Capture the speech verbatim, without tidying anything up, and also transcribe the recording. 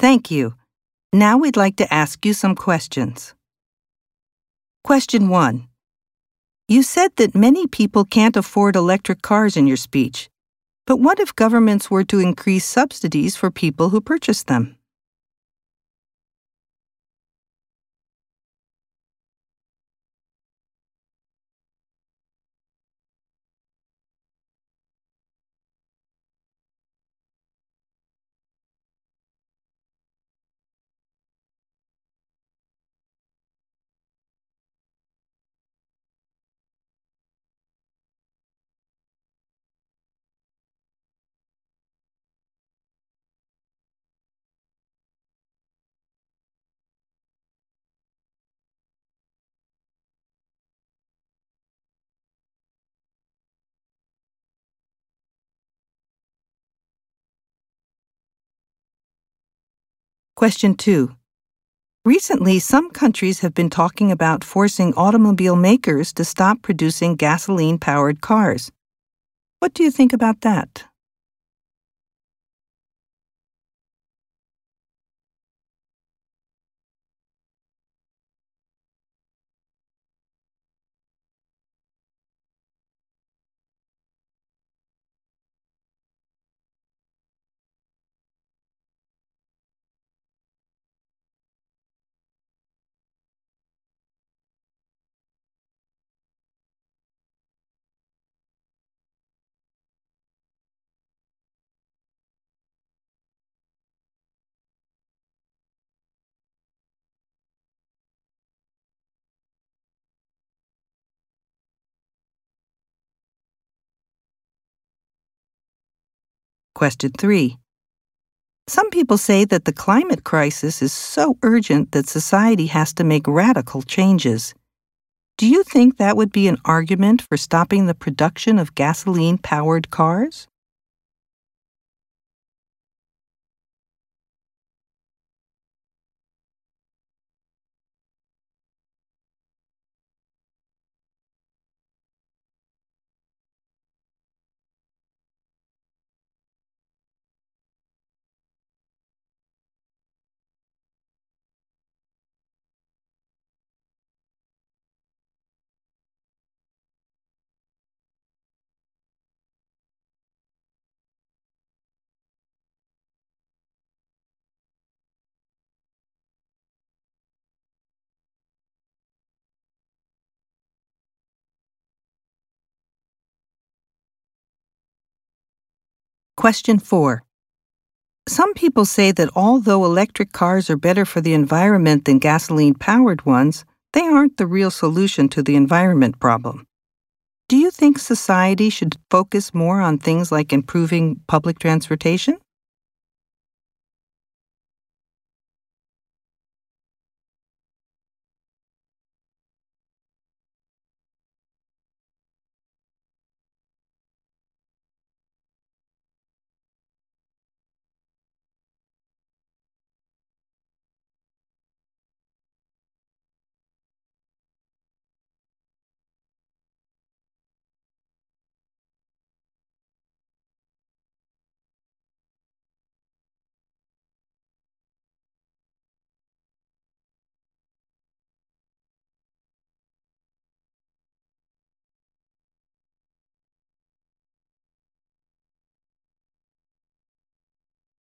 Thank you. Now we'd like to ask you some questions. Question one. You said that many people can't afford electric cars in your speech, but what if governments were to increase subsidies for people who purchase them? Question two. Recently, some countries have been talking about forcing automobile makers to stop producing gasoline-powered cars. What do you think about that? Question three. Some people say that the climate crisis is so urgent that society has to make radical changes. Do you think that would be an argument for stopping the production of gasoline-powered cars? Question four. Some people say that although electric cars are better for the environment than gasoline-powered ones, they aren't the real solution to the environment problem. Do you think society should focus more on things like improving public transportation?